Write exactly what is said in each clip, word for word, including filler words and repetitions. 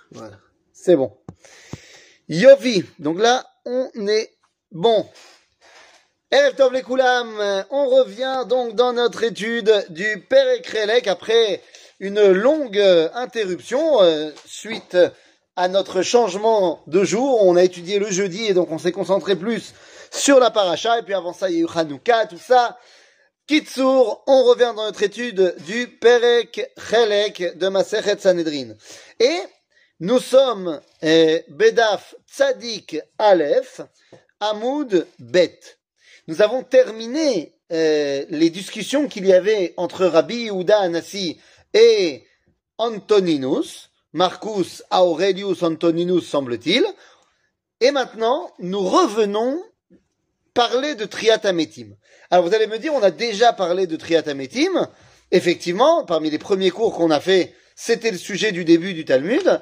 Voilà, c'est bon. Yovi, donc là, on est bon. Erev Tov les Koulam, on revient donc dans notre étude du Perek Relek après une longue interruption euh, suite à notre changement de jour. On a étudié le jeudi et donc on s'est concentré plus sur la paracha et puis avant ça il y a eu Hanouka, tout ça. Kitsour, on revient dans notre étude du Perek Relek de Masechet Sanhedrin. Et nous sommes eh, Bedaf Tzadik Aleph, Hamoud Bet. Nous avons terminé euh, les discussions qu'il y avait entre Rabbi Yehuda Hanassi et Antoninus, Marcus Aurelius Antoninus semble-t-il, et maintenant nous revenons parler de Triat Hametim. Alors vous allez me dire, on a déjà parlé de Triat Hametim, effectivement, parmi les premiers cours qu'on a fait, c'était le sujet du début du Talmud,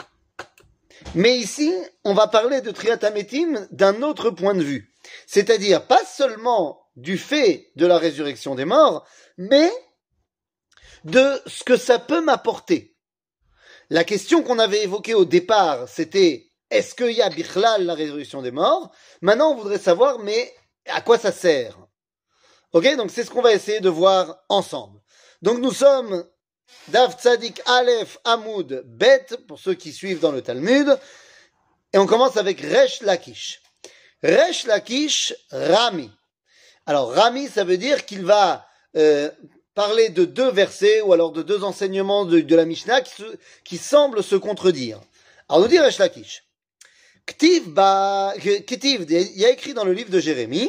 mais ici, on va parler de Triat Hametim d'un autre point de vue. C'est-à-dire pas seulement du fait de la résurrection des morts, mais de ce que ça peut m'apporter. La question qu'on avait évoquée au départ, c'était est-ce qu'il y a bichlal la résurrection des morts? Maintenant, on voudrait savoir, mais à quoi ça sert? Ok, donc c'est ce qu'on va essayer de voir ensemble. Donc nous sommes Dav Tzadik Aleph Hamoud Bet, pour ceux qui suivent dans le Talmud, et on commence avec Resh Lakish. Resh Lakish Rami. Alors Rami, ça veut dire qu'il va euh, parler de deux versets ou alors de deux enseignements de, de la Mishnah qui, se, qui semblent se contredire. Alors nous dit Resh Lakish. Ktiv, ba, Ktiv, il y a écrit dans le livre de Jérémie,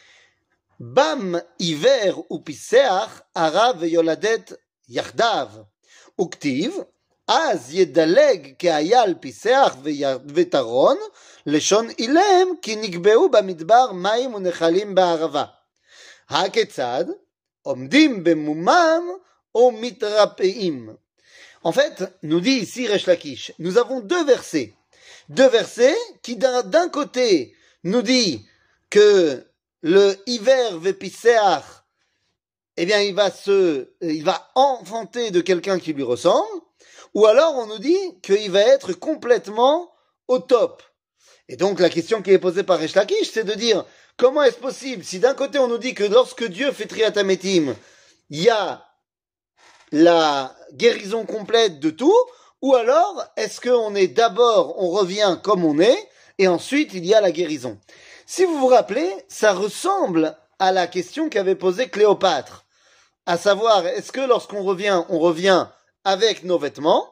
Bam Iver ou Piseach Arav Yoladet Yachdav. Uktiv, Az Yedaleg Keayal Piseach Vetaron. לשון אילם כי נקבעו במדבר מים ונחלים בערבה. הכיצד? עומדים במומם או מתרפאים. En fait, nous dit ici Resh Lakish, nous avons deux versets. Deux versets qui d'un, d'un côté nous dit que le hiver vepiseach, eh bien il va se, il va enfanter de quelqu'un qui lui ressemble, ou alors on nous dit qu'il va être complètement au top. Et donc la question qui est posée par Resh Lakish, c'est de dire comment est-ce possible si d'un côté on nous dit que lorsque Dieu fait Triat Hametim, il y a la guérison complète de tout, ou alors est-ce qu'on est d'abord, on revient comme on est, et ensuite il y a la guérison. Si vous vous rappelez, ça ressemble à la question qu'avait posée Cléopâtre, à savoir est-ce que lorsqu'on revient, on revient avec nos vêtements,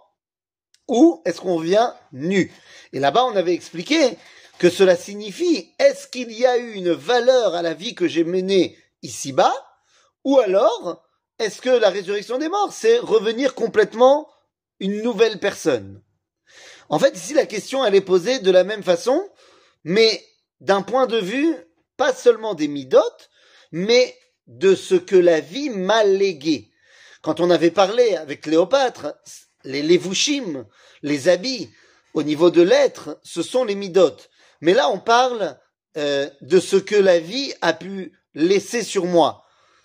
ou est-ce qu'on revient nu? Et là-bas, on avait expliqué que cela signifie, est-ce qu'il y a eu une valeur à la vie que j'ai menée ici-bas? Ou alors, est-ce que la résurrection des morts, c'est revenir complètement une nouvelle personne? En fait, ici, la question, elle est posée de la même façon, mais d'un point de vue, pas seulement des midotes, mais de ce que la vie m'a légué. Quand on avait parlé avec Cléopâtre, les levushim, les habits, au niveau de l'être, ce sont les midotes. Mais là, on parle euh, de ce que la vie a pu laisser sur moi.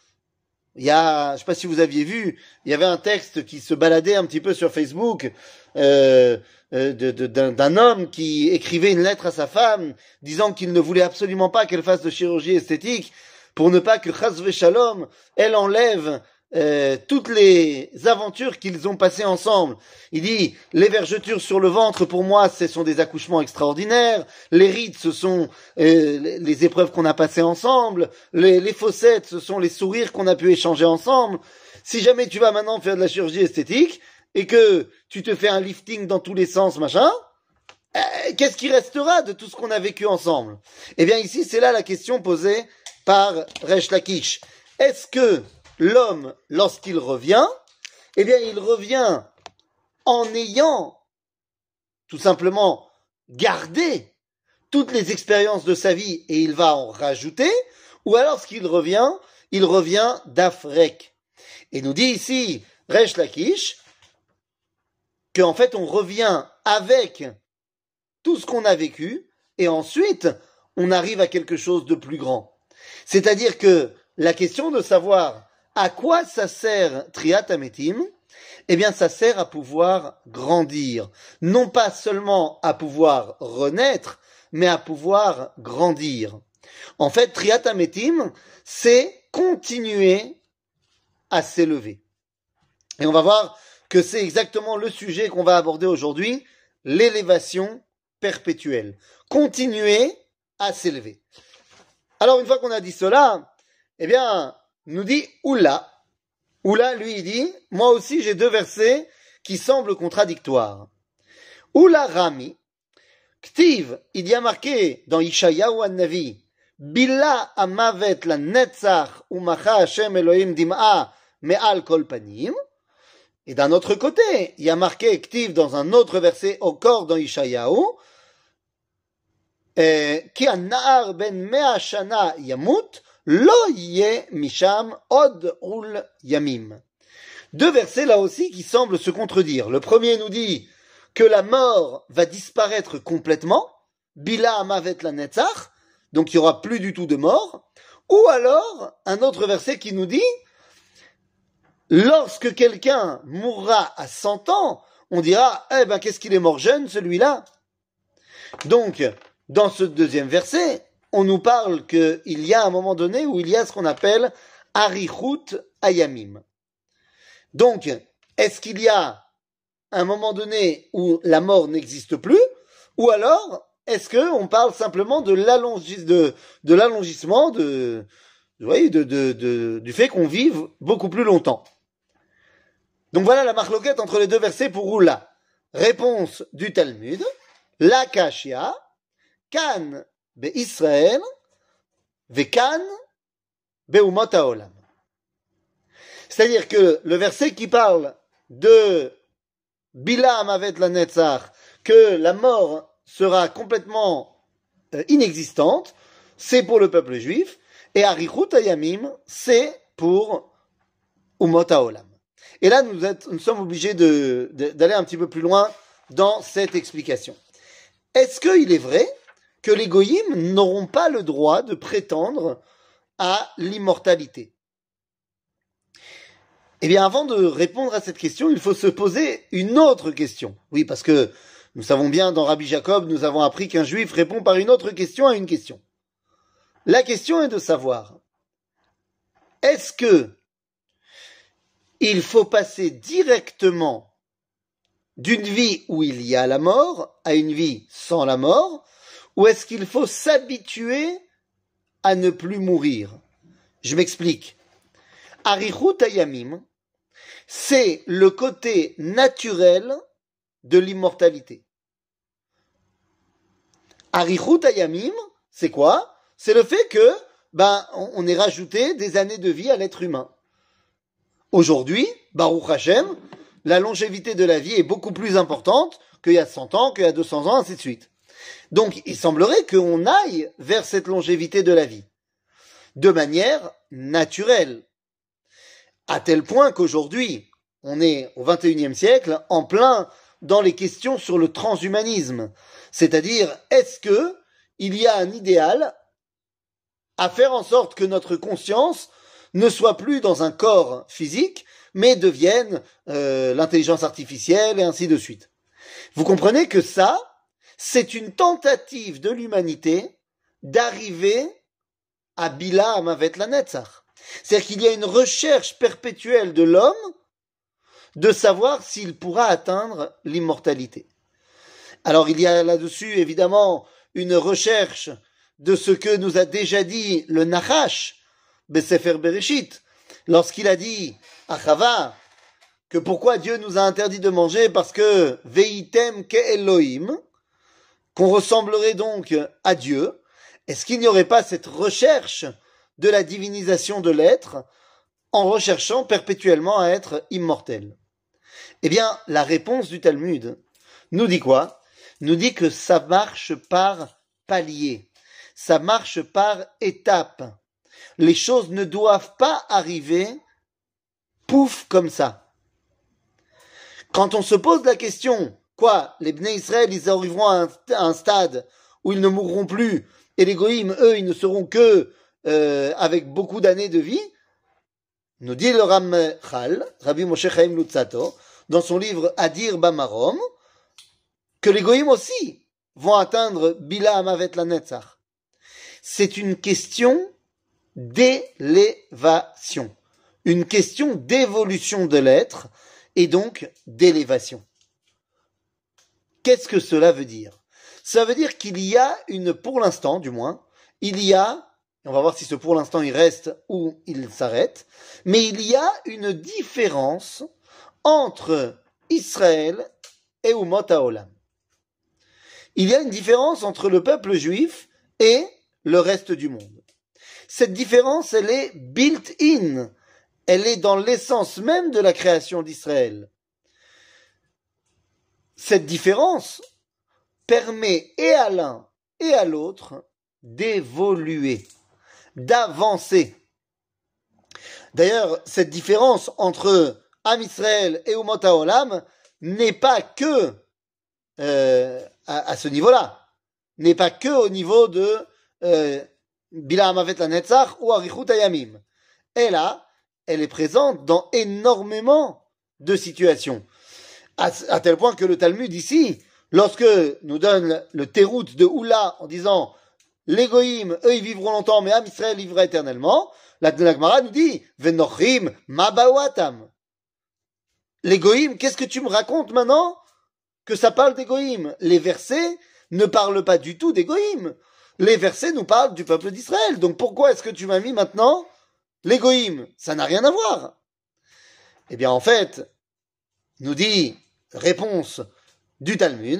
Il y a, je sais pas si vous aviez vu, il y avait un texte qui se baladait un petit peu sur Facebook euh, euh, de, de, d'un, d'un homme qui écrivait une lettre à sa femme disant qu'il ne voulait absolument pas qu'elle fasse de chirurgie esthétique pour ne pas que chas v'shalom, elle enlève Euh, toutes les aventures qu'ils ont passées ensemble. Il dit, les vergetures sur le ventre, pour moi, ce sont des accouchements extraordinaires. Les rides, ce sont euh, les épreuves qu'on a passées ensemble. Les, les fossettes, ce sont les sourires qu'on a pu échanger ensemble. Si jamais tu vas maintenant faire de la chirurgie esthétique et que tu te fais un lifting dans tous les sens, machin, euh, qu'est-ce qui restera de tout ce qu'on a vécu ensemble? Eh bien, ici, c'est là la question posée par Resh Lakish. Est-ce que l'homme, lorsqu'il revient, eh bien, il revient en ayant tout simplement gardé toutes les expériences de sa vie et il va en rajouter, ou alors, lorsqu'il revient, il revient d'Afrek. Et nous dit ici, Resh Lakish, qu'en fait, on revient avec tout ce qu'on a vécu et ensuite, on arrive à quelque chose de plus grand. C'est-à-dire que la question de savoir à quoi ça sert Triat Hametim, eh bien ça sert à pouvoir grandir. Non pas seulement à pouvoir renaître, mais à pouvoir grandir. En fait, Triat Hametim, c'est continuer à s'élever. Et on va voir que c'est exactement le sujet qu'on va aborder aujourd'hui, l'élévation perpétuelle. Continuer à s'élever. Alors une fois qu'on a dit cela, eh bien, nous dit Oula. Oula, lui, il dit, moi aussi j'ai deux versets qui semblent contradictoires. Oula Rami, Ktiv, il y a marqué dans Ishayahu an-Navi, Bila amavet la netzach umacha Hashem Elohim dim'a me'al kol panim. Et d'un autre côté, il y a marqué Ktiv dans un autre verset encore dans Ishayahu, Ki an-na'ar ben mea shana yamut, Lo yeh misham od ul yamim. Deux versets là aussi qui semblent se contredire. Le premier nous dit que la mort va disparaître complètement, bila amavet la netzach, donc il n'y aura plus du tout de mort. Ou alors un autre verset qui nous dit lorsque quelqu'un mourra à cent ans, on dira eh ben qu'est-ce qu'il est mort jeune celui-là. Donc dans ce deuxième verset, on nous parle qu'il y a un moment donné où il y a ce qu'on appelle Arichut Ayamim. Donc, est-ce qu'il y a un moment donné où la mort n'existe plus, ou alors est-ce qu'on parle simplement de l'allongis, de, de l'allongissement, de, vous voyez, de, de, de, du fait qu'on vive beaucoup plus longtemps. Donc voilà la marloquette entre les deux versets pour Oula. Réponse du Talmud, la Kashia, Kan Be-Israël, Vekan, Beumot Haolam. C'est-à-dire que le verset qui parle de Bila Amavet la Netzach, que la mort sera complètement euh, inexistante, c'est pour le peuple juif, et Arichut Hayamim, c'est pour Umot Haolam. Et là, nous, êtes, nous sommes obligés de, de, d'aller un petit peu plus loin dans cette explication. Est-ce qu'il est vrai que les goyim n'auront pas le droit de prétendre à l'immortalité? Eh bien, avant de répondre à cette question, il faut se poser une autre question. Oui, parce que nous savons bien, dans Rabbi Jacob, nous avons appris qu'un juif répond par une autre question à une question. La question est de savoir, est-ce que il faut passer directement d'une vie où il y a la mort à une vie sans la mort, ou est-ce qu'il faut s'habituer à ne plus mourir? Je m'explique. Arichut Hayamim, c'est le côté naturel de l'immortalité. Arichut Hayamim, c'est quoi? C'est le fait que, ben, on ait rajouté des années de vie à l'être humain. Aujourd'hui, Baruch Hashem, la longévité de la vie est beaucoup plus importante qu'il y a cent ans, qu'il y a deux cents ans, ainsi de suite. Donc, il semblerait qu'on aille vers cette longévité de la vie, de manière naturelle, à tel point qu'aujourd'hui, on est au vingt et unième siècle, en plein dans les questions sur le transhumanisme. C'est-à-dire, est-ce que il y a un idéal à faire en sorte que notre conscience ne soit plus dans un corps physique, mais devienne euh, l'intelligence artificielle et ainsi de suite. Vous comprenez que ça, c'est une tentative de l'humanité d'arriver à Bila Amavet la Netzach. C'est-à-dire qu'il y a une recherche perpétuelle de l'homme de savoir s'il pourra atteindre l'immortalité. Alors il y a là-dessus évidemment une recherche de ce que nous a déjà dit le Nachash, Besefer Bereshit, lorsqu'il a dit à Chava que pourquoi Dieu nous a interdit de manger, parce que Veitem ke Elohim, qu'on ressemblerait donc à Dieu. Est-ce qu'il n'y aurait pas cette recherche de la divinisation de l'être en recherchant perpétuellement à être immortel? Eh bien, la réponse du Talmud nous dit quoi? Nous dit que ça marche par paliers, ça marche par étapes. Les choses ne doivent pas arriver pouf comme ça. Quand on se pose la question, quoi, les Bnei Israël, ils arriveront à un, à un stade où ils ne mourront plus, et les Goïm, eux, ils ne seront que euh, avec beaucoup d'années de vie? nous dit le Ramchal, Rabbi Moshe Chaim Lutzato, dans son livre Adir Bamarom, que les goïms aussi vont atteindre Bila Amavet la Netzach. C'est une question d'élévation, une question d'évolution de l'être et donc d'élévation. Qu'est-ce que cela veut dire? Ça veut dire qu'il y a une, pour l'instant du moins, il y a, on va voir si ce pour l'instant il reste ou il s'arrête, mais il y a une différence entre Israël et Umot HaOlam. Il y a une différence entre le peuple juif et le reste du monde. Cette différence, elle est built-in. Elle est dans l'essence même de la création d'Israël. Cette différence permet et à l'un et à l'autre d'évoluer, d'avancer. D'ailleurs, cette différence entre Am Israël et Umot HaOlam n'est pas que euh, à, à ce niveau-là, n'est pas que au niveau de euh, Bila Amavet la Netzach ou Arichut Hayamim. Et là, elle est présente dans énormément de situations. À, à tel point que le Talmud ici, lorsque nous donne le terout de Oula en disant les goïms, eux ils vivront longtemps, mais Am Israël vivra éternellement, la, la Gemara nous dit Venochim Mabawatam. Les goïms, qu'est-ce que tu me racontes maintenant que ça parle des goïms? Les versets ne parlent pas du tout des goïms. Les versets nous parlent du peuple d'Israël. Donc pourquoi est-ce que tu m'as mis maintenant les goïms? Ça n'a rien à voir. Eh bien en fait, nous dit réponse du Talmud,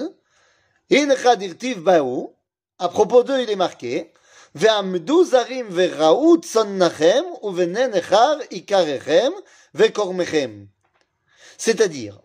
In dirtiv baou, à propos d'eux il est marqué, Ve'amdu zarim ve'ra'u tsonnachem uve'nen echar ikarechem ve'kormechem. C'est-à-dire,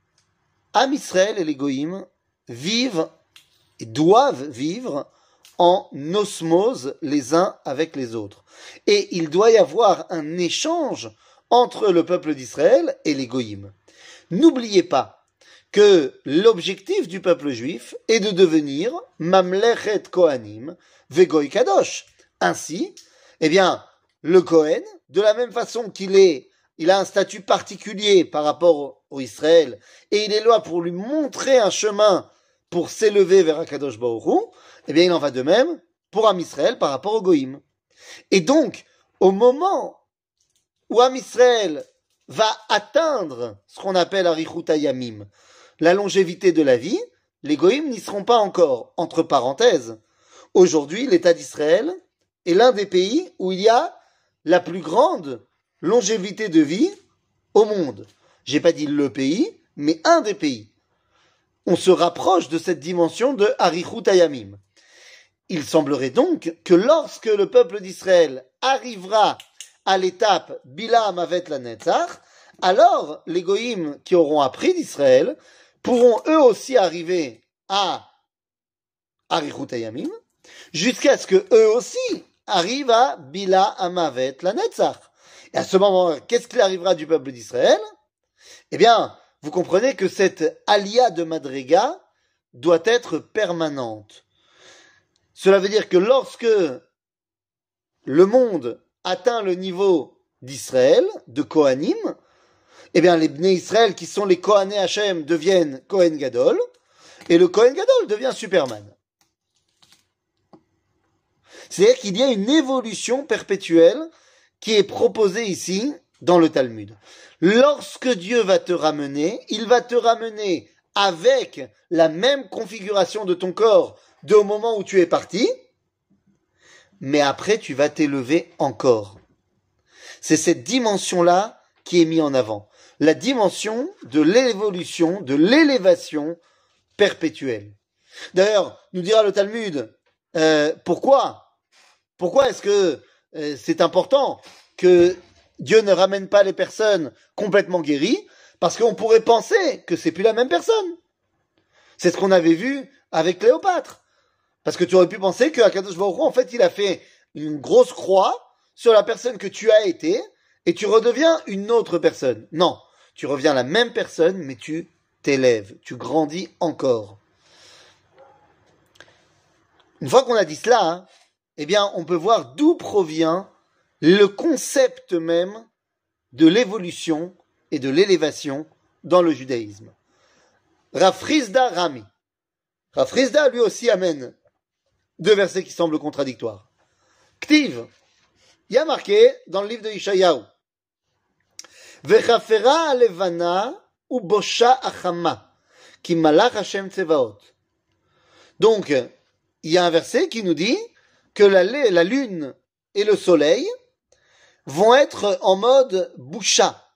Am Israël et les goïms vivent et doivent vivre en osmose les uns avec les autres. Et il doit y avoir un échange entre le peuple d'Israël et les goïms. N'oubliez pas que l'objectif du peuple juif est de devenir Mamlechet Kohanim Vegoy Kadosh. Ainsi, eh bien, le Kohen, de la même façon qu'il est, il a un statut particulier par rapport au Israël, et il est là pour lui montrer un chemin pour s'élever vers Akadosh Baruch Hu, eh bien, il en va de même pour Am Israël par rapport au Goïm. Et donc, au moment où Am Israël va atteindre ce qu'on appelle Arichut Hayamim, la longévité de la vie, les Goïm n'y seront pas encore. Entre parenthèses, aujourd'hui, l'État d'Israël est l'un des pays où il y a la plus grande longévité de vie au monde. J'ai pas dit le pays, mais un des pays. On se rapproche de cette dimension de Arichut Hayamim. Il semblerait donc que lorsque le peuple d'Israël arrivera à l'étape Bila Amavet la Netzach, alors les Goïm qui auront appris d'Israël pourront eux aussi arriver à Arichut Hayamim, jusqu'à ce que eux aussi arrivent à Bila Amavet la Netzach. Et à ce moment, qu'est-ce qu'il arrivera du peuple d'Israël? Eh bien, vous comprenez que cette alia de Madriga doit être permanente. Cela veut dire que lorsque le monde atteint le niveau d'Israël, de Kohanim, eh bien, les Bnei Israël, qui sont les Kohané Hashem, deviennent Kohen Gadol, et le Kohen Gadol devient Superman. C'est-à-dire qu'il y a une évolution perpétuelle qui est proposée ici dans le Talmud. Lorsque Dieu va te ramener, il va te ramener avec la même configuration de ton corps de au moment où tu es parti, mais après tu vas t'élever encore. C'est cette dimension-là qui est mise en avant. La dimension de l'évolution, de l'élévation perpétuelle. D'ailleurs, nous dira le Talmud, euh, pourquoi Pourquoi est-ce que euh, c'est important que Dieu ne ramène pas les personnes complètement guéries? Parce qu'on pourrait penser que c'est plus la même personne. C'est ce qu'on avait vu avec Cléopâtre. Parce que tu aurais pu penser que Akadosh Baruch Hu, en fait, il a fait une grosse croix sur la personne que tu as été, et tu redeviens une autre personne. Non, tu reviens la même personne, mais tu t'élèves, tu grandis encore. Une fois qu'on a dit cela, hein, eh bien, on peut voir d'où provient le concept même de l'évolution et de l'élévation dans le judaïsme. Rav Chisda Rami. Rav Chisda lui aussi amène deux versets qui semblent contradictoires. Ktiv, il y a marqué dans le livre de Ishayahu, Vechafera alevana u bosha achama, ki malach Hashem tsevaot. Donc, il y a un verset qui nous dit que la, la lune et le soleil vont être en mode boucha,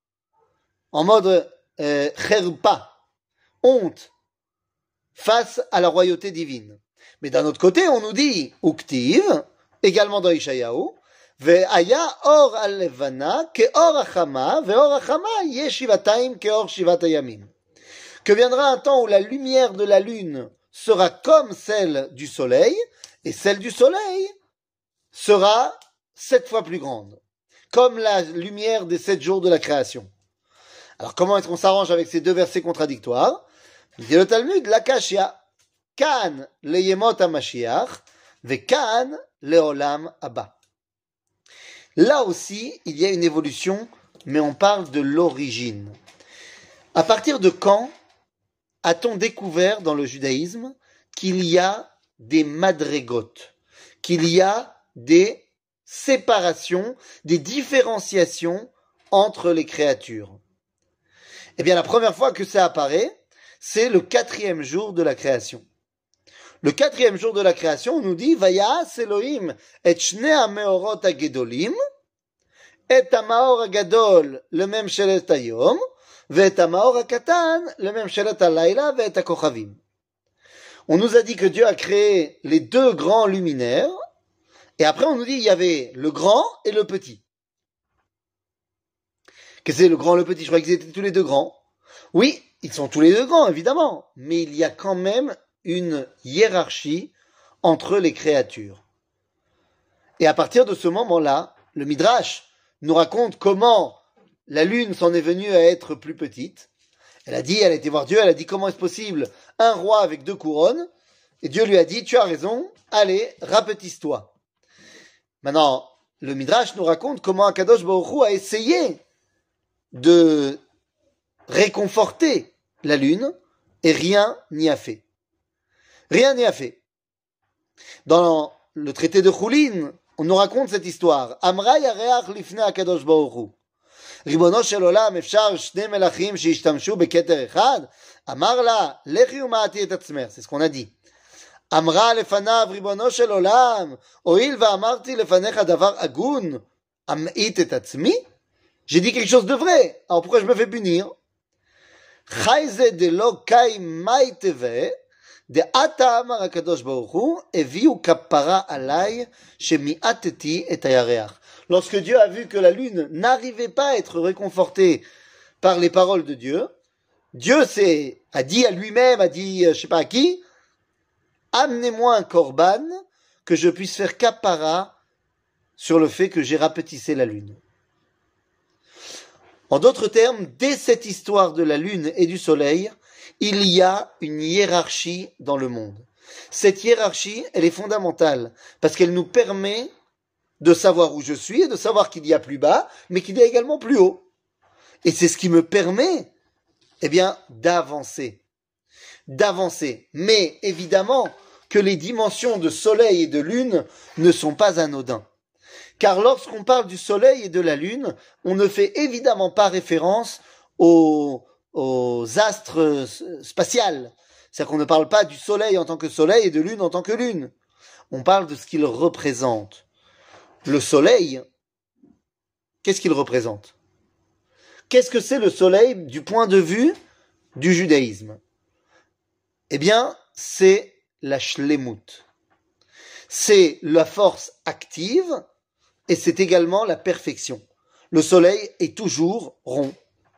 en mode euh, cherpa, honte, face à la royauté divine. Mais d'un autre côté, on nous dit, uktiv, également dans Ishayahu, ve'aya or al-levana ke or achama, ve'or achama ye shivataim ke or shivatayamim. Que viendra un temps où la lumière de la lune sera comme celle du soleil, et celle du soleil sera sept fois plus grande, comme la lumière des sept jours de la création. Alors comment est-ce qu'on s'arrange avec ces deux versets contradictoires? Dit le Talmud, la kashia, kan le yemot ha-mashiach, ve kan le olam haba. Là aussi, il y a une évolution, mais on parle de l'origine. À partir de quand a-t-on découvert dans le judaïsme qu'il y a des madrégotes, qu'il y a des séparations, des différenciations entre les créatures? Eh bien, la première fois que ça apparaît, c'est le quatrième jour de la création. Le quatrième jour de la création, on nous dit, Vayas Elohim et shnei ha-meorot ha-gedolim, et ha-maor ha-gadol le mem shelet hayom, ve'et ha-maor ha-katan le mem shelet ha-layla ve'et ha-kochavim. On nous a dit que Dieu a créé les deux grands luminaires, et après on nous dit il y avait le grand et le petit. Qu'est-ce que c'est le grand et le petit? Je croyais qu'ils étaient tous les deux grands. Oui, ils sont tous les deux grands, évidemment, mais il y a quand même une hiérarchie entre les créatures. Et à partir de ce moment-là, le Midrash nous raconte comment la lune s'en est venue à être plus petite. Elle a dit, elle a été voir Dieu, elle a dit comment est-ce possible un roi avec deux couronnes? Et Dieu lui a dit, tu as raison, allez, rapetisse-toi. Maintenant, le Midrash nous raconte comment Akadosh Baruch Hu a essayé de réconforter la lune et rien n'y a fait. Rien n'y a fait. Dans le traité de Choulin, on nous raconte cette histoire. Amra yareach lifnei Akadosh Baruch Hu. ריבונו של עולם, אפשר שני מלכים שהשתמשו בכתר אחד? אמר לה, לכי ומעטי את עצמך. C'est ce qu'on a dit. אמרה לפניו, ריבונו של עולם, הואיל ואמרתי לפניך דבר הגון, אמעיט את עצמי? J'ai dit quelque chose de vrai, alors pourquoi je me fais punir? חי זה דלא קאי מאי תווה, דעתה אמר הקדוש ברוך הוא, הביאו כפרה עליי, שמיעטתי את הירח. Lorsque Dieu a vu que la lune n'arrivait pas à être réconfortée par les paroles de Dieu, Dieu s'est, a dit à lui-même, a dit, je sais pas à qui, amenez-moi un korban que je puisse faire kapara sur le fait que j'ai rapetissé la lune. En d'autres termes, dès cette histoire de la lune et du soleil, il y a une hiérarchie dans le monde. Cette hiérarchie, elle est fondamentale parce qu'elle nous permet de savoir où je suis et de savoir qu'il y a plus bas, mais qu'il y a également plus haut. Et c'est ce qui me permet, eh bien, d'avancer. D'avancer. Mais, évidemment, que les dimensions de soleil et de lune ne sont pas anodins. Car lorsqu'on parle du soleil et de la lune, on ne fait évidemment pas référence aux, aux astres spatials. C'est-à-dire qu'on ne parle pas du soleil en tant que soleil et de lune en tant que lune. On parle de ce qu'il représente. Le soleil, qu'est-ce qu'il représente? Qu'est-ce que c'est le soleil du point de vue du judaïsme? Eh bien, c'est la shlemut. C'est la force active et c'est également la perfection. Le soleil est toujours rond.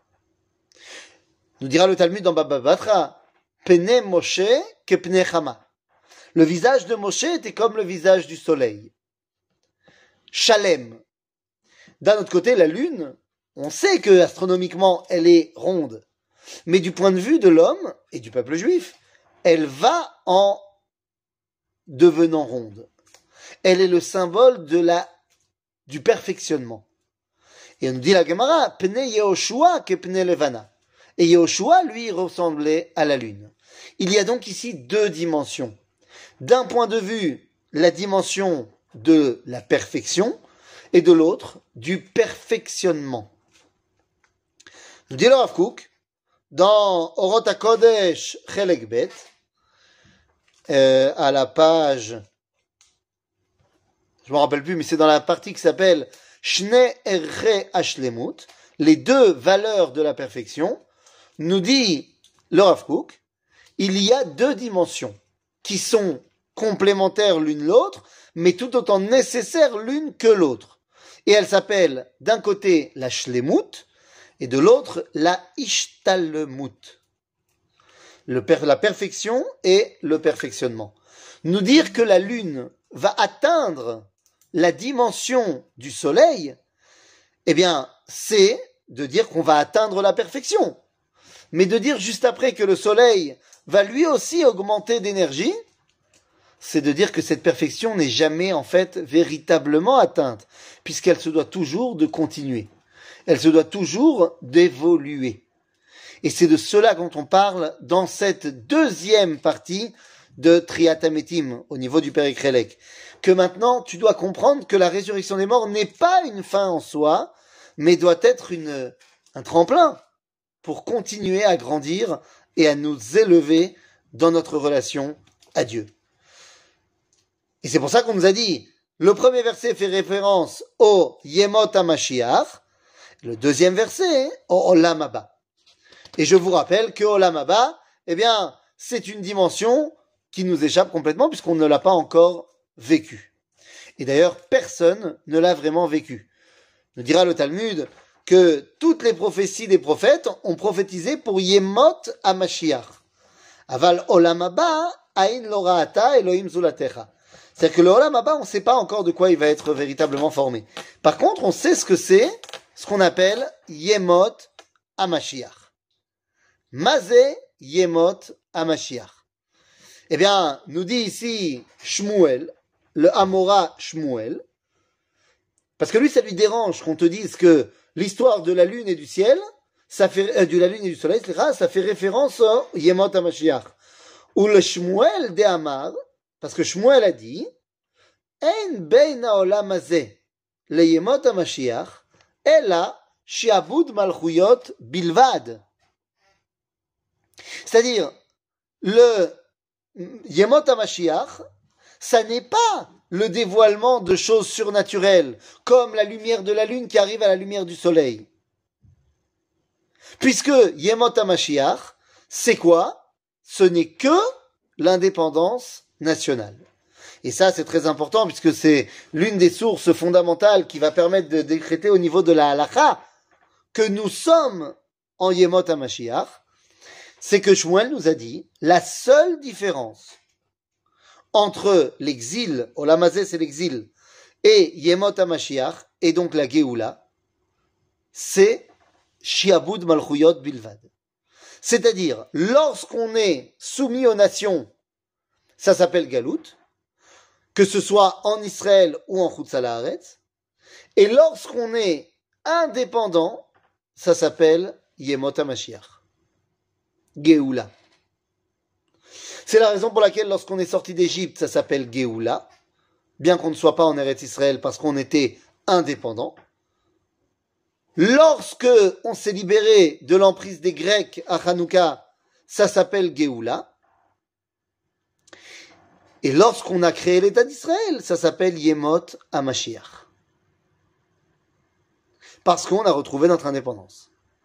Nous dira le Talmud dans Baba Batra, Pene Moshe ke pene Chama. Le visage de Moshe était comme le visage du soleil. Shalem. D'un autre côté, la lune, on sait que astronomiquement, elle est ronde. Mais du point de vue de l'homme et du peuple juif, elle va en devenant ronde. Elle est le symbole de la, du perfectionnement. Et on nous dit la Gemara, Pnei Yehoshua que Pnei Levana. Et Yehoshua, lui, ressemblait à la lune. Il y a donc ici deux dimensions. D'un point de vue, la dimension de la perfection, et de l'autre, du perfectionnement. Nous dit le Rav Kook, dans Orot HaKodesh Chelek Bet, euh, à la page, je me rappelle plus, mais c'est dans la partie qui s'appelle Shnei Erre Hashlemut, les deux valeurs de la perfection, nous dit le Rav Kook, il y a deux dimensions qui sont complémentaires l'une l'autre, mais tout autant nécessaires l'une que l'autre. Et elles s'appellent d'un côté la Shlemut et de l'autre la Ishtalmut. Le per- la perfection et le perfectionnement. Nous dire que la lune va atteindre la dimension du soleil, eh bien, c'est de dire qu'on va atteindre la perfection. Mais de dire juste après que le soleil va lui aussi augmenter d'énergie, c'est de dire que cette perfection n'est jamais en fait véritablement atteinte, puisqu'elle se doit toujours de continuer. Elle se doit toujours d'évoluer. Et c'est de cela dont on parle dans cette deuxième partie de Triat Hametim, au niveau du Perek Chelek. Que maintenant, tu dois comprendre que la résurrection des morts n'est pas une fin en soi, mais doit être une, un tremplin pour continuer à grandir et à nous élever dans notre relation à Dieu. Et c'est pour ça qu'on nous a dit, le premier verset fait référence au Yemot HaMashiach, le deuxième verset au Olam Haba. Et je vous rappelle que Olam Haba, eh bien, c'est une dimension qui nous échappe complètement puisqu'on ne l'a pas encore vécu. Et d'ailleurs, personne ne l'a vraiment vécu. Nous dira le Talmud que toutes les prophéties des prophètes ont prophétisé pour Yemot HaMashiach. Aval Olam Haba, Ain lo ra'ata Elohim zulatecha. C'est-à-dire que le Olam Haba, on ne sait pas encore de quoi il va être véritablement formé. Par contre, on sait ce que c'est, ce qu'on appelle Yemot HaMashiach. Mazé Yemot HaMashiach. Eh bien, nous dit ici Shmuel, le Amora Shmuel, parce que lui, ça lui dérange qu'on te dise que l'histoire de la lune et du ciel, ça fait, euh, de la lune et du soleil, ça fait référence au Yemot HaMashiach. Ou le Shmuel de Amar, parce que Shmuel a dit, En bein haolam hazeh le Yemot HaMashiach, ela shi'abud malchuyot bilvad. C'est-à-dire, le Yemot HaMashiach, ça n'est pas le dévoilement de choses surnaturelles, comme la lumière de la lune qui arrive à la lumière du soleil. Puisque Yemot HaMashiach, c'est quoi? Ce n'est que l'indépendance nationale. Et ça, c'est très important, puisque c'est l'une des sources fondamentales qui va permettre de décréter au niveau de la halakha que nous sommes en Yemot HaMashiach. C'est que Shmuel nous a dit, la seule différence entre l'exil, Olam Hazeh c'est l'exil, et Yemot HaMashiach, et donc la Géoula, c'est Shi'abud Malchuyot Bilvad. C'est-à-dire, lorsqu'on est soumis aux nations, ça s'appelle Galout, que ce soit en Israël ou en Chutz La'aretz, et lorsqu'on est indépendant, ça s'appelle Yemot HaMashiach. Géoula. C'est la raison pour laquelle lorsqu'on est sorti d'Égypte, ça s'appelle Géoula, bien qu'on ne soit pas en Eretz Israël parce qu'on était indépendant. Lorsque on s'est libéré de l'emprise des Grecs à Hanouka, ça s'appelle Géoula. Et lorsqu'on a créé l'État d'Israël, ça s'appelle Yemot HaMashiach. Parce qu'on a retrouvé notre indépendance.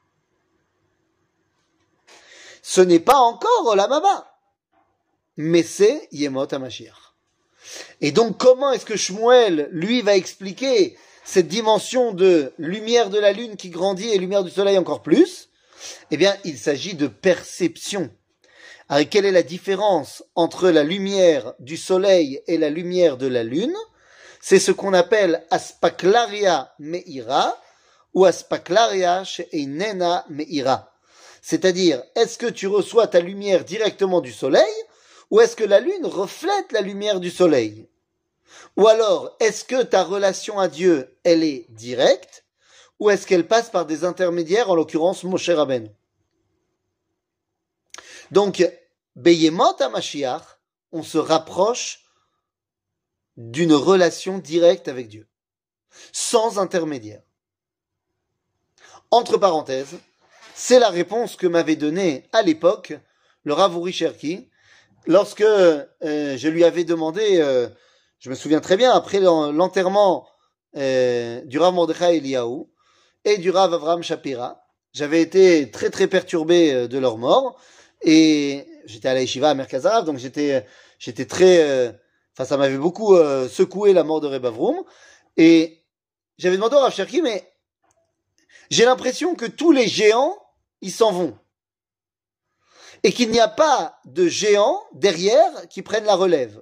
Ce n'est pas encore Olam Haba, mais c'est Yemot HaMashiach. Et donc, comment est-ce que Shmuel, lui, va expliquer cette dimension de lumière de la lune qui grandit et lumière du soleil encore plus? Eh bien, il s'agit de perception. Alors, quelle est la différence entre la lumière du soleil et la lumière de la lune? C'est ce qu'on appelle Aspaklaria Meira ou Aspaklaria She'einena Meira. C'est-à-dire, est-ce que tu reçois ta lumière directement du soleil ou est-ce que la lune reflète la lumière du soleil? Ou alors, est-ce que ta relation à Dieu, elle est directe ou est-ce qu'elle passe par des intermédiaires, en l'occurrence Moshe Rabbeinu? Donc, Beyemot HaMashiach, on se rapproche d'une relation directe avec Dieu, sans intermédiaire. Entre parenthèses, c'est la réponse que m'avait donnée à l'époque le Rav Uri Cherki, lorsque euh, je lui avais demandé, euh, je me souviens très bien, après l'enterrement euh, du Rav Mordechai Eliyahu et du Rav Avraham Shapira, j'avais été très très perturbé de leur mort, et j'étais à la Yeshiva à Merkaz Harav, donc j'étais j'étais très, euh, enfin ça m'avait beaucoup euh, secoué la mort de Reb Avroum, et j'avais demandé au Rav Cherki, mais j'ai l'impression que tous les géants, ils s'en vont. Et qu'il n'y a pas de géants derrière qui prennent la relève.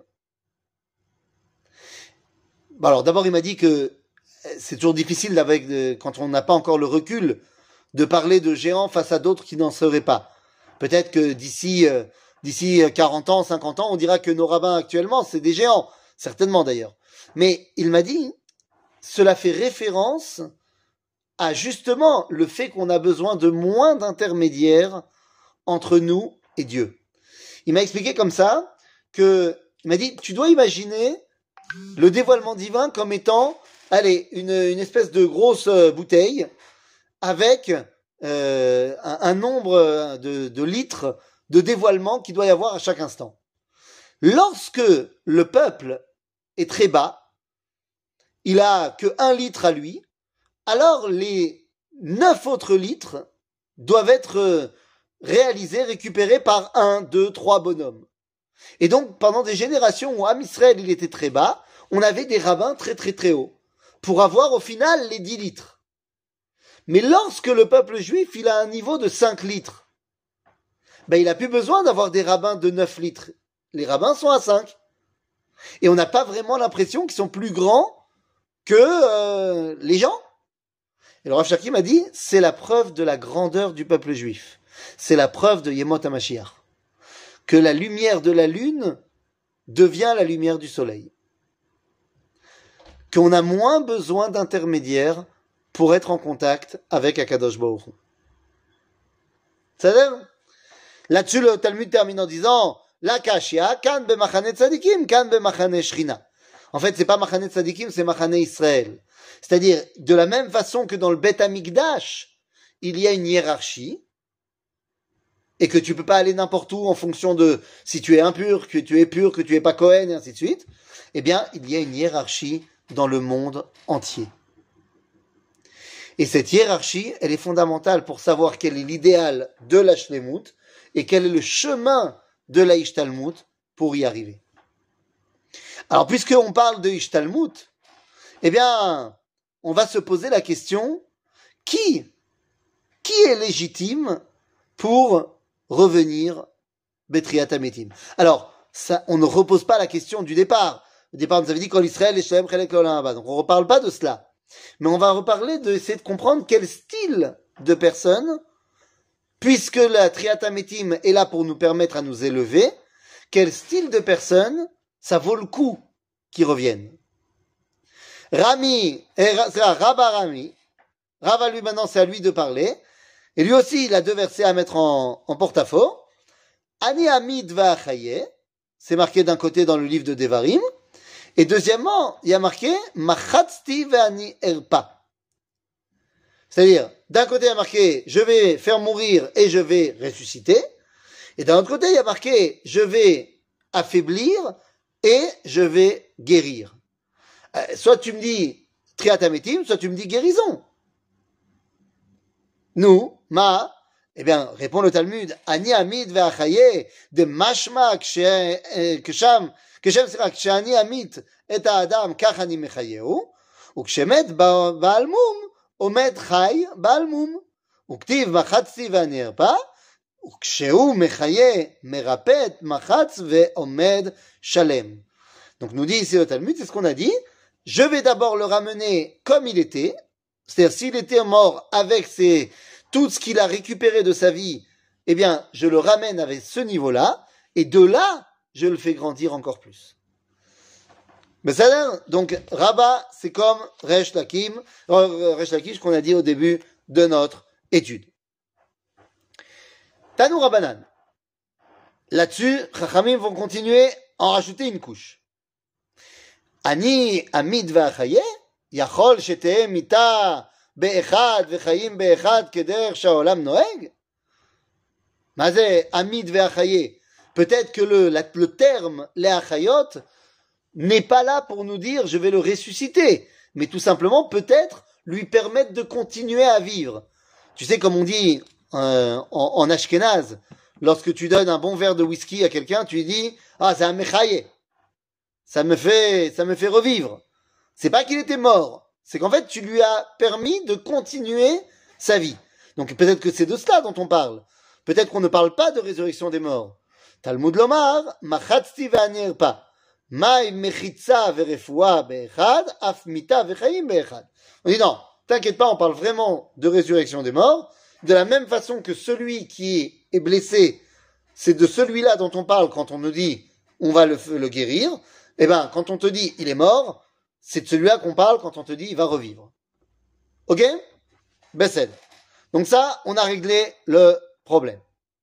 Bon alors d'abord il m'a dit que c'est toujours difficile avec, quand on n'a pas encore le recul de parler de géants face à d'autres qui n'en seraient pas. Peut-être que d'ici euh, d'ici quarante ans, cinquante ans, on dira que nos rabbins actuellement, c'est des géants. Certainement d'ailleurs. Mais il m'a dit, cela fait référence à justement le fait qu'on a besoin de moins d'intermédiaires entre nous et Dieu. Il m'a expliqué comme ça que, il m'a dit, tu dois imaginer le dévoilement divin comme étant, allez, une, une espèce de grosse bouteille avec euh, un, un nombre de, de litres de dévoilement qu'il doit y avoir à chaque instant. Lorsque le peuple est très bas, il a que un litre à lui, alors les neuf autres litres doivent être réalisés, récupérés par un, deux, trois bonhommes. Et donc, pendant des générations où Am Israël il était très bas, on avait des rabbins très très très hauts, pour avoir au final les dix litres. Mais lorsque le peuple juif il a un niveau de cinq litres, ben il a plus besoin d'avoir des rabbins de neuf litres. Les rabbins sont à cinq. Et on n'a pas vraiment l'impression qu'ils sont plus grands que euh, les gens. Et le Rav Cherki m'a dit, c'est la preuve de la grandeur du peuple juif. C'est la preuve de Yemot HaMashiach. Que la lumière de la lune devient la lumière du soleil. Qu'on a moins besoin d'intermédiaires pour être en contact avec Akadosh Baruch Hu. C'est-à-dire, là-dessus le Talmud termine en disant, la kashia, kan b'machane tzadikim, kan b'machane shrina. En fait, c'est pas Machane Tzadikim, c'est Machane Israël. C'est-à-dire, de la même façon que dans le Beth Amikdash, il y a une hiérarchie, et que tu peux pas aller n'importe où en fonction de si tu es impur, que tu es pur, que tu es pas Cohen, et ainsi de suite. Eh bien, il y a une hiérarchie dans le monde entier. Et cette hiérarchie, elle est fondamentale pour savoir quel est l'idéal de la Shlemut, et quel est le chemin de la Ishtalmut pour y arriver. Alors, puisqu'on parle de Ishtalmut, eh bien, on va se poser la question, qui, qui est légitime pour revenir Betriat Hametim? Alors, ça, on ne repose pas la question du départ. Au départ, on nous avait dit qu'en Israël, les Shalem Chelek L'Olam Haba. Donc, on ne reparle pas de cela. Mais on va reparler de, essayer de comprendre quel style de personne, puisque la Triat Hametim est là pour nous permettre à nous élever, quel style de personne ça vaut le coup qu'ils reviennent. Rami, c'est Rabba Rami, Rava lui maintenant c'est à lui de parler, et lui aussi il a deux versets à mettre en, en porte-à-faux. Ani Amid Va'achaye, c'est marqué d'un côté dans le livre de Devarim, et deuxièmement, il y a marqué Machatzti Ve'ani Erpa. C'est-à-dire, d'un côté il y a marqué je vais faire mourir et je vais ressusciter, et d'un autre côté il y a marqué je vais affaiblir et je vais guérir. Euh, soit tu me dis Triat Hametim, soit tu me dis guérison. Nous, ma, eh bien, répond le Talmud, Ani Amid ve'achaye de mashma ksham כשם סליחה, כשאני אמית את האדם כך אני מחייהו, וכשמת בעל מום עומד חי בעל מום, וכתיב מחצתי ואני ארפא, וכשהוא מחיה מרפא את מחץ ועומד שלם. Donc nous dit ici le Talmud, c'est ce qu'on a dit, je vais d'abord le ramener comme il était, c'est-à-dire s'il était mort avec ses, tout ce qu'il a récupéré de sa vie, eh bien je le ramène avec ce niveau-là, et de là, je le fais grandir encore plus. Besséder, donc Rabat, c'est comme Resh Lakim, euh, Resh Lakish qu'on a dit au début de notre étude. Tanou Rabanan. Là-dessus, Chachamim vont continuer à en rajouter une couche. Ani amid ve'achaye, yachol shetehem mita be'echad ve'chayim be'echad keder sha'olam noeg. Mazé amid ve'achaye. Peut-être que le, la, le terme les achayot n'est pas là pour nous dire je vais le ressusciter, mais tout simplement peut-être lui permettre de continuer à vivre. Tu sais, comme on dit euh, en, en ashkénaze, lorsque tu donnes un bon verre de whisky à quelqu'un, tu lui dis ah c'est un mechaye, ça me fait ça me fait revivre. C'est pas qu'il était mort, c'est qu'en fait tu lui as permis de continuer sa vie. Donc peut-être que c'est de cela dont on parle. Peut-être qu'on ne parle pas de résurrection des morts. Talmud lomar machatzti ve'anirpa mai mechitza ve'refoua be'echad af mita ve'chayim be'echad. On dit non, t'inquiète pas, on parle vraiment de résurrection des morts. De la même façon que celui qui est blessé, c'est de celui-là dont on parle quand on nous dit on va le, le guérir. Eh ben, quand on te dit il est mort, c'est de celui-là qu'on parle quand on te dit il va revivre. Ok? Bessed. Donc ça, on a réglé le problème.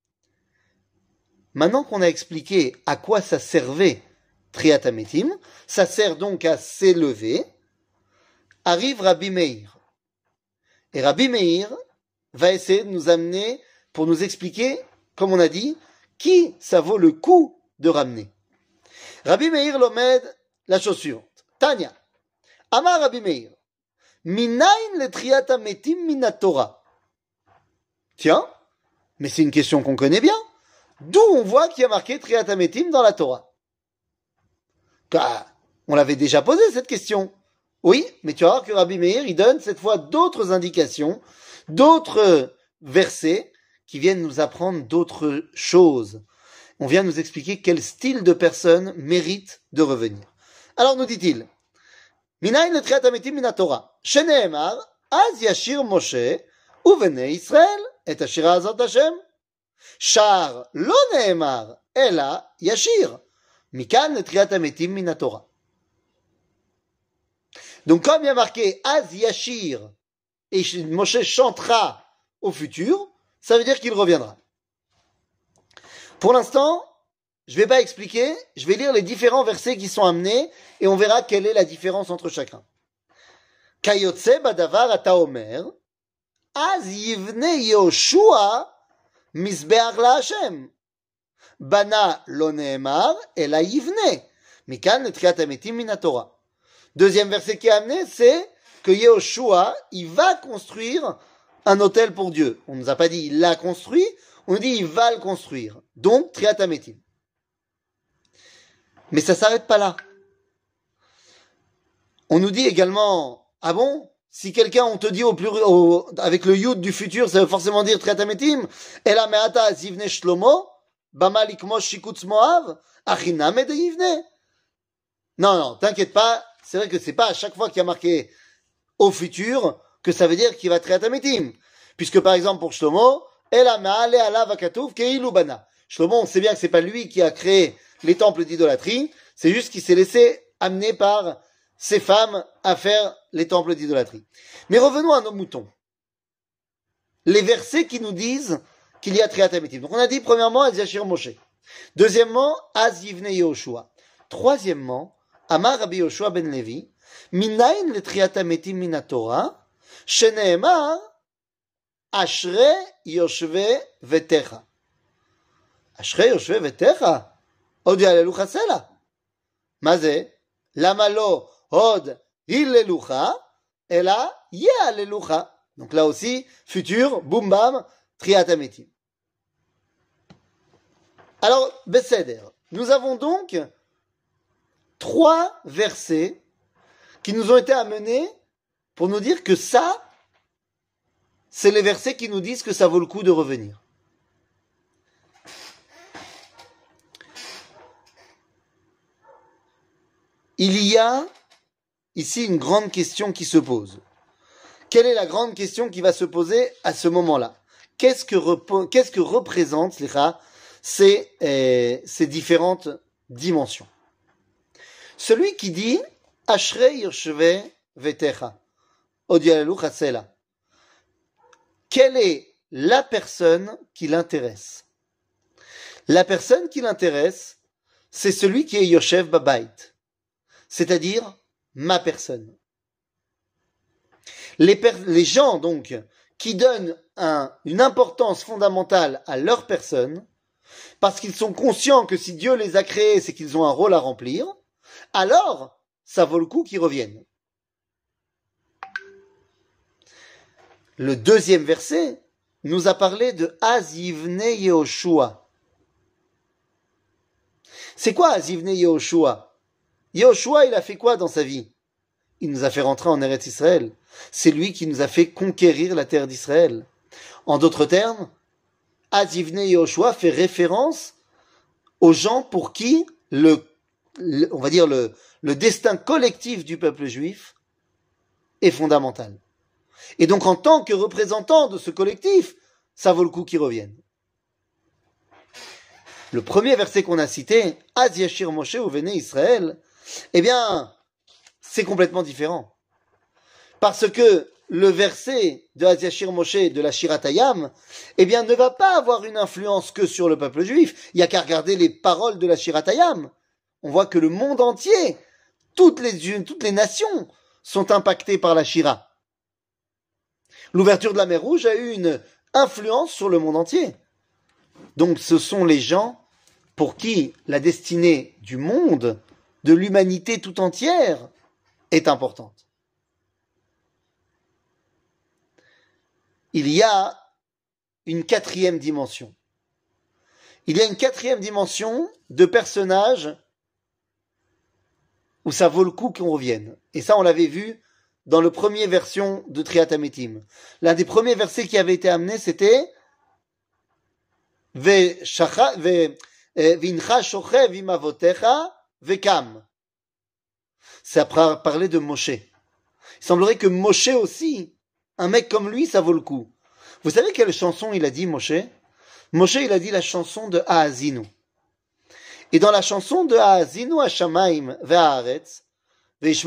Maintenant qu'on a expliqué à quoi ça servait Triat Hametim, ça sert donc à s'élever, arrive Rabbi Meir. Et Rabbi Meir va essayer de nous amener pour nous expliquer, comme on a dit, qui ça vaut le coup de ramener. Rabbi Meir l'omed la chose suivante. Tanya, Amar Rabbi Meir, Minayin le Triat Hametim mina Torah. Tiens, mais c'est une question qu'on connaît bien. D'où on voit qu'il y a marqué Triat Hametim dans la Torah. Car on l'avait déjà posé cette question. Oui, mais tu vas voir que Rabbi Meir, il donne cette fois d'autres indications, d'autres versets qui viennent nous apprendre d'autres choses. On vient nous expliquer quel style de personne mérite de revenir. Alors nous dit-il, Minayin le Triat Hametim mina Torah, sheneemar, az yashir Moshe, uvnei Israël, et ashira azot Hashem. Char lo neemar, ela yashir. Mikan le Triat Hametim mina Torah. Donc comme il y a marqué Az Yashir et Moshe chantera au futur, ça veut dire qu'il reviendra. Pour l'instant, je ne vais pas expliquer, je vais lire les différents versets qui sont amenés et on verra quelle est la différence entre chacun. Kayotse badavar ata omer, Az yivne Yoshua misbeach la Hashem. Bana lo neemar, ela yivne. Mikan le Triat Hametim mina Torah. Deuxième verset qui est amené, c'est que Yehoshua, il va construire un autel pour Dieu. On ne nous a pas dit il l'a construit, on nous dit il va le construire. Donc, Triat Hametim. Mais ça s'arrête pas là. On nous dit également, ah bon, si quelqu'un, on te dit au plus, au, avec le yud du futur, ça veut forcément dire Triat Hametim. Ela me'ata zivne shlomo, bama likmosh shikutz moav, achiname de yivne. Non, non, t'inquiète pas. C'est vrai que c'est pas à chaque fois qu'il y a marqué au futur que ça veut dire qu'il va Triat Hametim. Puisque par exemple pour Shlomo, Ela ma'ale alav hakatuv keilu bana. Shlomo, on sait bien que c'est pas lui qui a créé les temples d'idolâtrie, c'est juste qu'il s'est laissé amener par ses femmes à faire les temples d'idolâtrie. Mais revenons à nos moutons. Les versets qui nous disent qu'il y a Triat Hametim. Donc on a dit premièrement Az Yashir Moshe. Deuxièmement, Az Yivne Yehoshua. Troisièmement, Amar Rabbi Yoshua ben Levi, Minayin le Triat Hametim mina Torah, sheneemar, Ashre Yoshve Vetecha. Ashre Yoshve Vetecha? Od yalelu chasela. Maze? Lama lo od illelucha, ela yalelucha. Donc là aussi, futur, boum bam, Triat Hametim. Alors, Besséder, nous avons donc trois versets qui nous ont été amenés pour nous dire que ça, c'est les versets qui nous disent que ça vaut le coup de revenir. Il y a ici une grande question qui se pose. Quelle est la grande question qui va se poser à ce moment-là? Qu'est-ce que, rep- qu'est-ce que représentent ces, euh, ces différentes dimensions? Celui qui dit Ashrei Yoshve Vetecha, Odialelu Chasela. Quelle est la personne qui l'intéresse? La personne qui l'intéresse, c'est celui qui est Yoshev Babait, c'est-à-dire ma personne. Les, per les gens, donc, qui donnent un, une importance fondamentale à leur personne, parce qu'ils sont conscients que si Dieu les a créés, c'est qu'ils ont un rôle à remplir, alors ça vaut le coup qu'ils reviennent. Le deuxième verset nous a parlé de Azivne Yehoshua. C'est quoi Azivne Yehoshua? Yehoshua, il a fait quoi dans sa vie? Il nous a fait rentrer en Eretz Israël. C'est lui qui nous a fait conquérir la terre d'Israël. En d'autres termes, Azivne Yehoshua fait référence aux gens pour qui le, le on va dire le, le destin collectif du peuple juif est fondamental. Et donc, en tant que représentant de ce collectif, ça vaut le coup qu'ils reviennent. Le premier verset qu'on a cité, Az Yashir Moshe Uvene Israël, eh bien, c'est complètement différent. Parce que le verset de Az Yashir Moshe de la Shiratayam, eh bien, ne va pas avoir une influence que sur le peuple juif. Il n'y a qu'à regarder les paroles de la Shiratayam. On voit que le monde entier, toutes les, toutes les nations sont impactées par la Shira. L'ouverture de la mer Rouge a eu une influence sur le monde entier. Donc ce sont les gens pour qui la destinée du monde, de l'humanité tout entière, est importante. Il y a une quatrième dimension. Il y a une quatrième dimension de personnages où ça vaut le coup qu'on revienne. Et ça, on l'avait vu dans le premier version de Triat Hametim. L'un des premiers versets qui avait été amené, c'était Ve'incha shochev im avotecha ve'kam. Ça parlait de Moshe. Il semblerait que Moshe aussi, un mec comme lui, ça vaut le coup. Vous savez quelle chanson il a dit, Moshe? Moshe, il a dit la chanson de Haazinu. Et dans la chanson de Haazinu Hashamaim ve'haaretz, qu'est-ce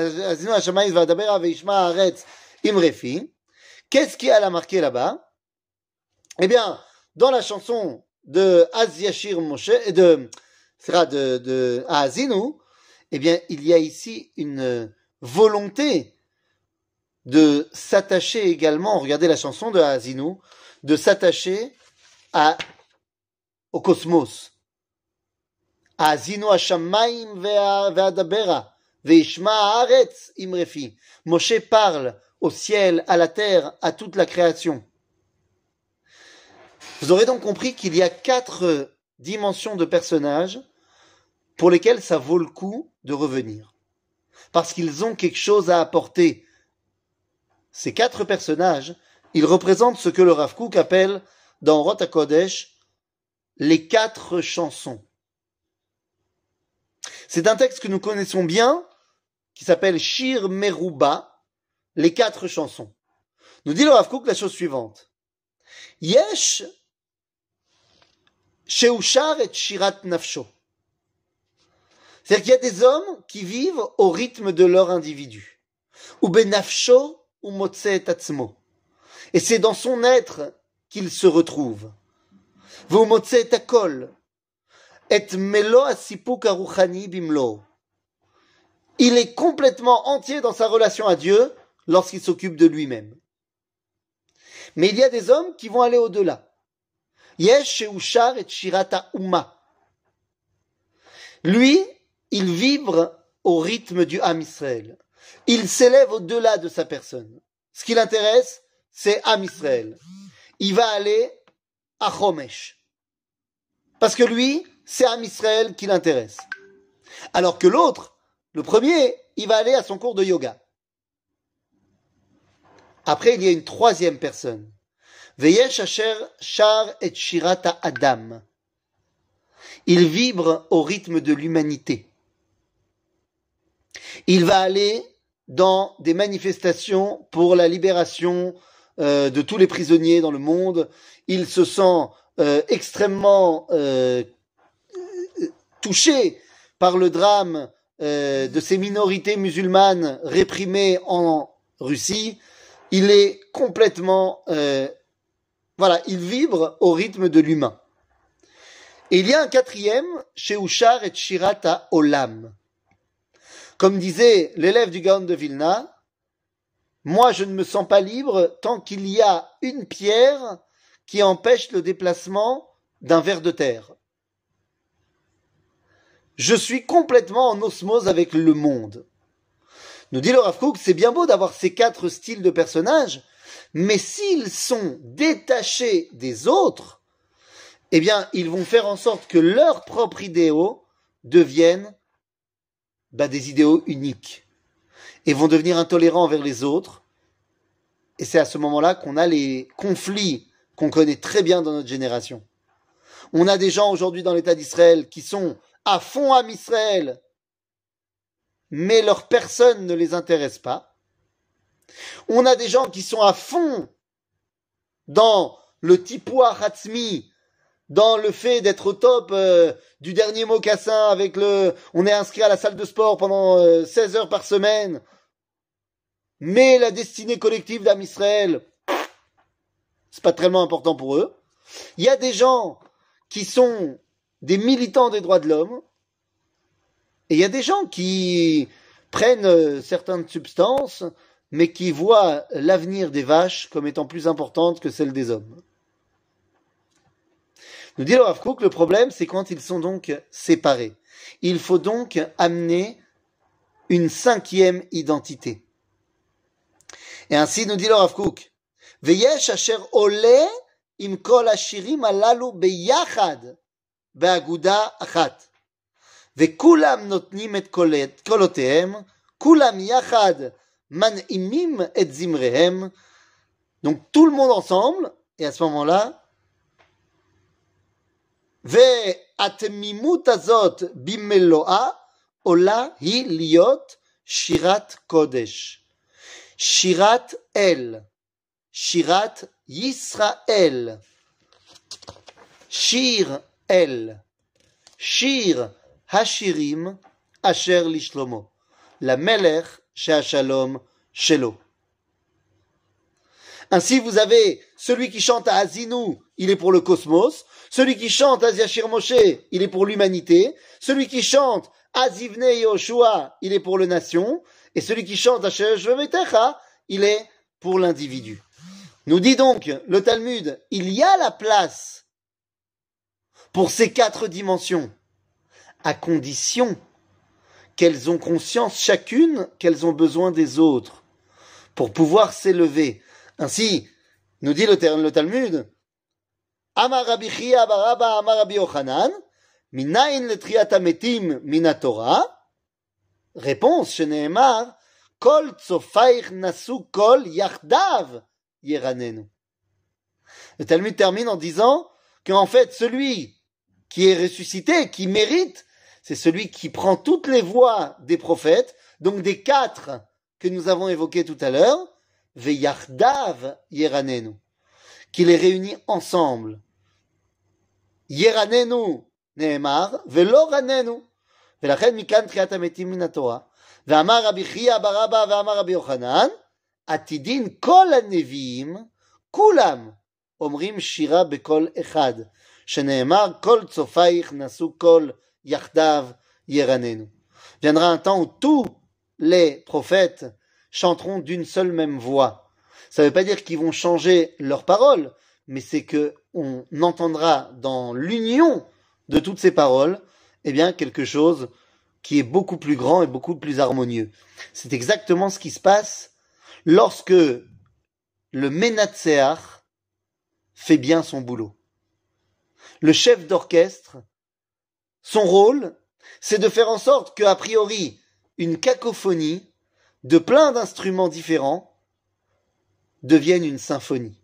qui a la marqué là-bas? Eh bien, dans la chanson de Az Yashir Moshe, de, de, de Haazinu, eh bien, il y a ici une volonté de s'attacher également, regardez la chanson de Haazinu, de s'attacher à, au cosmos. Haazinu Hashamayim ve'adabera. Moshe parle au ciel, à la terre, à toute la création. Vous aurez donc compris qu'il y a quatre dimensions de personnages pour lesquels ça vaut le coup de revenir. Parce qu'ils ont quelque chose à apporter. Ces quatre personnages, ils représentent ce que le Rav Kook appelle dans Rot HaKodesh les quatre chansons. C'est un texte que nous connaissons bien, qui s'appelle Shir Meruba, les quatre chansons. Nous dit le Rav Kook la chose suivante. Yesh Sheushar et Shirat Nafsho. C'est-à-dire qu'il y a des hommes qui vivent au rythme de leur individu. Ou benafsho ou motse et atzmo. Et c'est dans son être qu'il se retrouve. V'u motse et akol. Et melo asipuk aruchani bimlo. Il est complètement entier dans sa relation à Dieu lorsqu'il s'occupe de lui-même. Mais il y a des hommes qui vont aller au-delà. Yesh sheushar et shirata umma. Lui, il vibre au rythme du Ham Israël. Il s'élève au-delà de sa personne. Ce qui l'intéresse, c'est Ham Israël. Il va aller à Chomesh. Parce que lui, c'est Ham Israël qui l'intéresse. Alors que l'autre, le premier, il va aller à son cours de yoga. Après, il y a une troisième personne. Veyesh asher shar et shirata Adam. Il vibre au rythme de l'humanité. Il va aller dans des manifestations pour la libération euh, de tous les prisonniers dans le monde. Il se sent euh, extrêmement euh, touché par le drame euh, de ces minorités musulmanes réprimées en Russie, il est complètement, euh, voilà, il vibre au rythme de l'humain. Et il y a un quatrième, Sheushar et Shirata Olam. Comme disait l'élève du Gaon de Vilna, moi je ne me sens pas libre tant qu'il y a une pierre qui empêche le déplacement d'un ver de terre. Je suis complètement en osmose avec le monde. Nous dit le Rav Kook, c'est bien beau d'avoir ces quatre styles de personnages, mais s'ils sont détachés des autres, eh bien, ils vont faire en sorte que leurs propres idéaux deviennent bah, des idéaux uniques et vont devenir intolérants envers les autres. Et c'est à ce moment-là qu'on a les conflits qu'on connaît très bien dans notre génération. On a des gens aujourd'hui dans l'État d'Israël qui sont à fond à Israël, mais leur personne ne les intéresse pas. On a des gens qui sont à fond dans le tipoua hatzmi, dans le fait d'être au top euh, du dernier mocassin avec le... On est inscrit à la salle de sport pendant euh, seize heures par semaine. Mais la destinée collective d'Am Israël, c'est pas tellement important pour eux. Il y a des gens qui sont des militants des droits de l'homme, et il y a des gens qui prennent euh, certaines substances, mais qui voient l'avenir des vaches comme étant plus importante que celle des hommes. Nous dit le Rav Kook, le problème, c'est quand ils sont donc séparés. Il faut donc amener une cinquième identité. Et ainsi nous dit le Rav Kook, Veyesh asher ole im kol hashirim alalu beyachad beaguda achat. Vekulam notnim et kolotehem, kulam yachad man'imim et zimrehem. Donc tout le monde ensemble, et à ce moment-là, והתמימות הזאת במלואה עולה היא להיות שירת קודש. שירת אל. שירת ישראל. שיר אל. שיר השירים אשר לשלמה. למלך שהשלום שלו. Ainsi, vous avez celui qui chante à Azinu, il est pour le cosmos. Celui qui chante à Yashir Moshe, il est pour l'humanité. Celui qui chante à Zivne Yoshua, il est pour le nation. Et celui qui chante à Shvemetecha, il est pour l'individu. Nous dit donc le Talmud, il y a la place pour ces quatre dimensions, à condition qu'elles ont conscience chacune qu'elles ont besoin des autres pour pouvoir s'élever. Ainsi, nous dit le, le Talmud, Amar Rabbi Chia bar Abba Amar Rabbi Yochanan, Minayin letriat hametim min Torah. Réponse, Sheneemar, Kol tzofaich nasu kol yachdav yeranenu. Le Talmud termine en disant qu'en fait, celui qui est ressuscité, qui mérite, c'est celui qui prend toutes les voix des prophètes, donc des quatre que nous avons évoqués tout à l'heure, Veyachdav yeranenu, qui les réunit ensemble. Yeranenu neemar, velo ranenu. ולכן מכאן תחיית המתים מן התורה. ואמר רבי חייא בר אבא ואמר רבי יוחנן, עתידין כל הנביאים, כולם אומרים שירה בקול אחד, שנאמר כל צופייך נשאו קול יחדיו ירננו. Viendra un temps où tous les prophètes chanteront d'une seule même voix. Ça ne veut pas dire qu'ils vont changer leurs paroles, mais c'est que on entendra dans l'union de toutes ces paroles, eh bien, quelque chose qui est beaucoup plus grand et beaucoup plus harmonieux. C'est exactement ce qui se passe lorsque le Menatseach fait bien son boulot. Le chef d'orchestre, son rôle, c'est de faire en sorte qu'a priori, une cacophonie de plein d'instruments différents devienne une symphonie.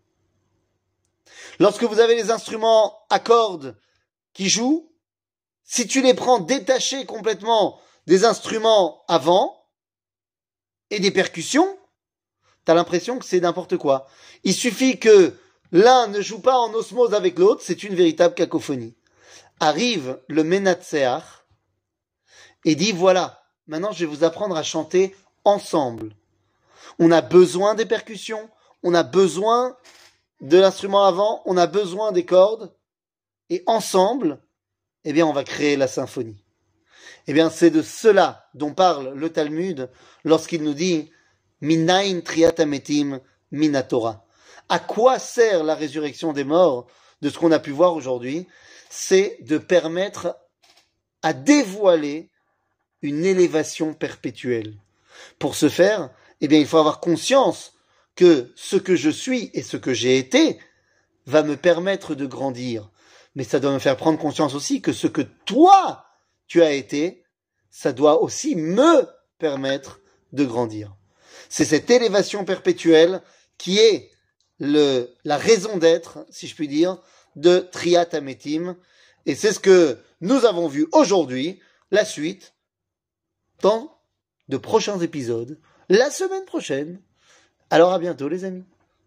Lorsque vous avez les instruments à cordes qui jouent, si tu les prends détachés complètement des instruments à vent et des percussions, t'as l'impression que c'est n'importe quoi. Il suffit que l'un ne joue pas en osmose avec l'autre, c'est une véritable cacophonie. Arrive le Menatseach et dit voilà, maintenant je vais vous apprendre à chanter ensemble. On a besoin des percussions, on a besoin de l'instrument avant, on a besoin des cordes, et ensemble, eh bien, on va créer la symphonie. Eh bien, c'est de cela dont parle le Talmud lorsqu'il nous dit Minayin triat hametim mina Torah. À quoi sert la résurrection des morts de ce qu'on a pu voir aujourd'hui? C'est de permettre à dévoiler une élévation perpétuelle. Pour ce faire, eh bien, il faut avoir conscience que ce que je suis et ce que j'ai été va me permettre de grandir. Mais ça doit me faire prendre conscience aussi que ce que toi, tu as été, ça doit aussi me permettre de grandir. C'est cette élévation perpétuelle qui est le, la raison d'être, si je puis dire, de Triat Hametim. Et c'est ce que nous avons vu aujourd'hui, la suite, dans de prochains épisodes, la semaine prochaine. Alors à bientôt les amis.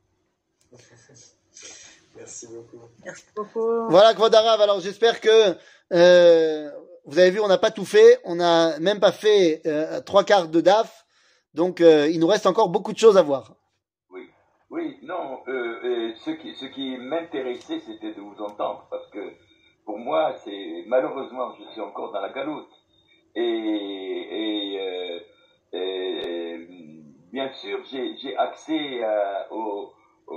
Merci beaucoup. Merci beaucoup. Voilà, Kvodarav. Alors j'espère que euh, vous avez vu, on n'a pas tout fait, on n'a même pas fait euh, trois quarts de D A F, donc euh, il nous reste encore beaucoup de choses à voir. Oui, oui, non. Euh, euh, ce qui, ce qui m'intéressait, c'était de vous entendre, parce que pour moi, c'est malheureusement, je suis encore dans la galoute, et, et, euh, et bien sûr, j'ai, j'ai accès à, aux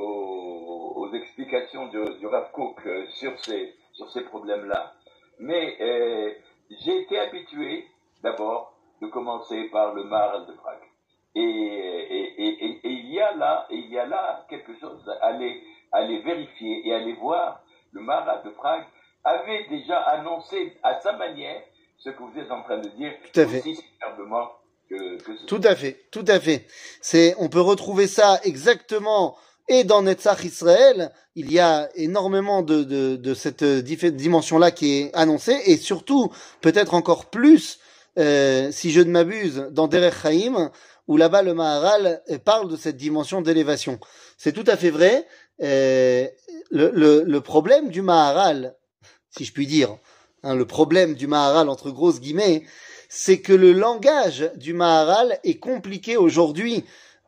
Aux, aux explications du, du Rav Kook euh, sur ces, sur ces problèmes-là. Mais euh, j'ai été habitué, d'abord, de commencer par le Maharal de Prague. Et, et, et, et, et il y a là, et il y a là quelque chose à aller, à aller vérifier et à aller voir. Le Maharal de Prague avait déjà annoncé à sa manière ce que vous êtes en train de dire, tout à fait. Aussi superbement que, que ce Tout à fait, tout à fait. C'est, on peut retrouver ça exactement. Et dans Netzach Israël, il y a énormément de, de, de cette dimension-là qui est annoncée, et surtout, peut-être encore plus, euh, si je ne m'abuse, dans Derech Chaim, où là-bas le Maharal parle de cette dimension d'élévation. C'est tout à fait vrai. Euh, le, le, le problème du Maharal, si je puis dire, hein, le problème du Maharal entre grosses guillemets, c'est que le langage du Maharal est compliqué aujourd'hui.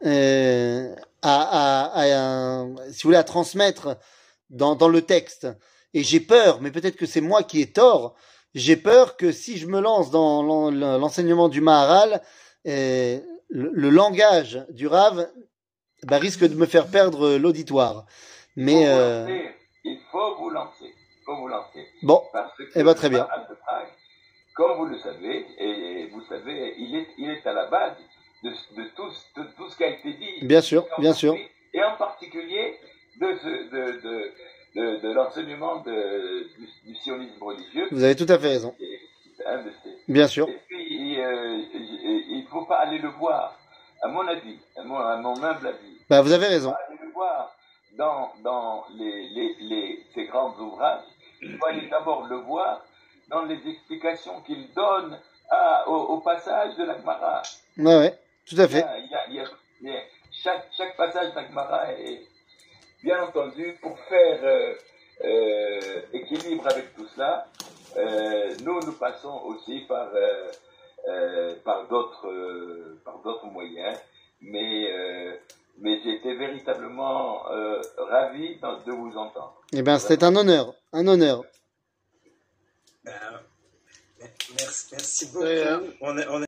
Euh, À, à, à, à, si vous voulez, à transmettre dans, dans le texte. Et j'ai peur, mais peut-être que c'est moi qui ai tort, j'ai peur que si je me lance dans l'enseignement du Maharal, euh, le, le langage du Rav bah, risque de me faire perdre l'auditoire. Mais euh... il faut vous lancer, il faut vous lancer. Bon, parce que eh ben, très bien. De Prague, comme vous le savez, et vous savez, il est, il est à la base De, de, tout, de tout ce qui a été dit. Bien sûr, bien sûr. Et en particulier de, ce, de, de, de, de l'enseignement de, du, du sionisme religieux. Vous avez tout à fait raison. C'est un de ces. Bien sûr. Et puis, euh, il ne faut pas aller le voir, à mon avis, à mon, à mon humble avis. Bah, vous avez raison. Il faut aller le voir dans, dans les, les, les, ces grands ouvrages. Il faut aller d'abord le voir dans les explications qu'il donne à, au, au passage de la Gemara. Ouais, ouais. Tout à fait. Il y a, il y a, il y a, chaque, chaque passage d'Agmara est bien entendu pour faire euh, euh, équilibre avec tout cela. Euh, nous, nous passons aussi par, euh, euh, par d'autres euh, par d'autres moyens, mais, euh, mais j'étais véritablement euh, ravi de vous entendre. Eh bien, c'est un honneur, un honneur. Euh, merci, merci beaucoup. On est, on est